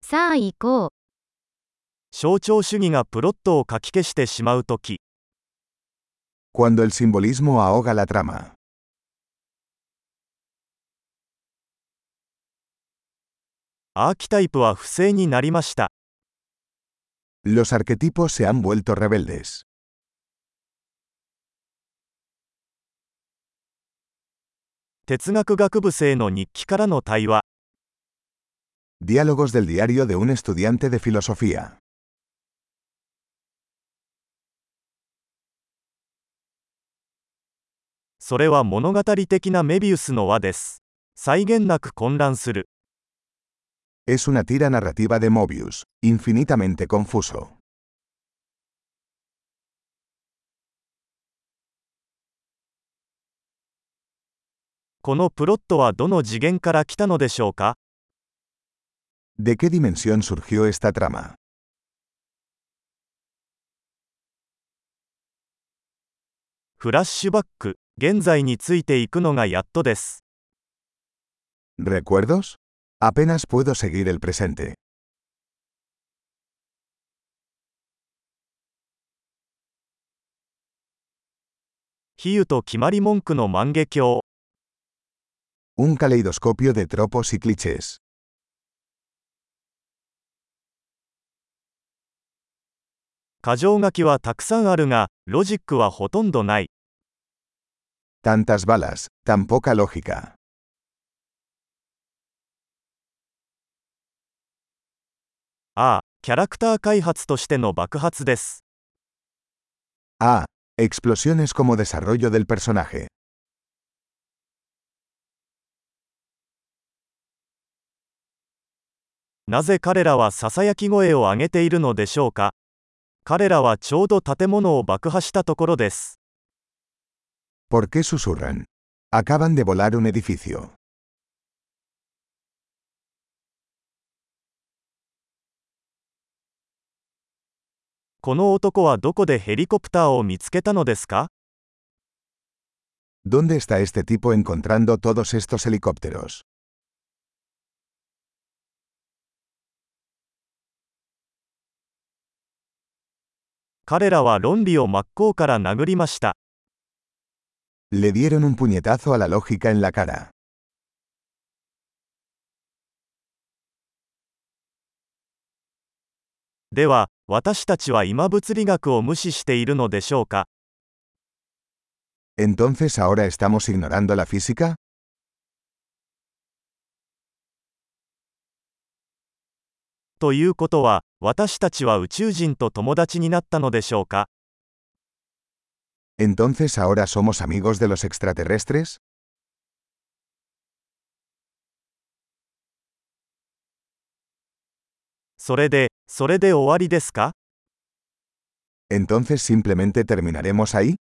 さあ行こう。 象徴主義がプロットをかき消してしまうとき、 Cuando el simbolismo ahoga la trama. アーキタイプは不正になりました。 Los arquetipos se han vuelto rebeldes. 哲学学部生の日記からの対話。 Diálogos del diario de un estudiante de filosofía. それは物語的なメビウスの輪です。際限なく混乱する。 Es una tira narrativa de Mobius, infinitamente confuso. このプロットはどの次元から来たのでしょうか？ ¿De qué dimensión surgió esta trama? フラッシュバック、現在についていくのがやっとです。 ¿Recuerdos? Apenas puedo seguir el presente. 比喩と決まり文句の万華鏡。 Un caleidoscopio de tropos y clichés. 箇条書きはたくさんあるが、ロジックはほとんどない。 Tantas balas, tan poca lógica. ああ、キャラクター開発としての爆発です。 Ah, explosiones como desarrollo del personaje. なぜ彼らはささやき声を上げているのでしょうか？彼らはちょうど建物を爆破したところです。 ¿Por qué susurran? Acaban de volar un edificio. この男はどこでヘリコプターを見つけたのですか？ ¿Dónde está este tipo encontrando todos estos helicópteros? 彼らは論理を真っ向から殴りました。 Le dieron un puñetazo a la lógica en la cara. では、私たちは今物理学を無視しているのでしょうか？ ¿Entonces ahora estamos ignorando la física? ということは、私たちは宇宙人と友達になったのでしょうか？ ¿Entonces ahora somos amigos de los extraterrestres? それで終わりですか？ ¿Entonces simplemente terminaremos ahí?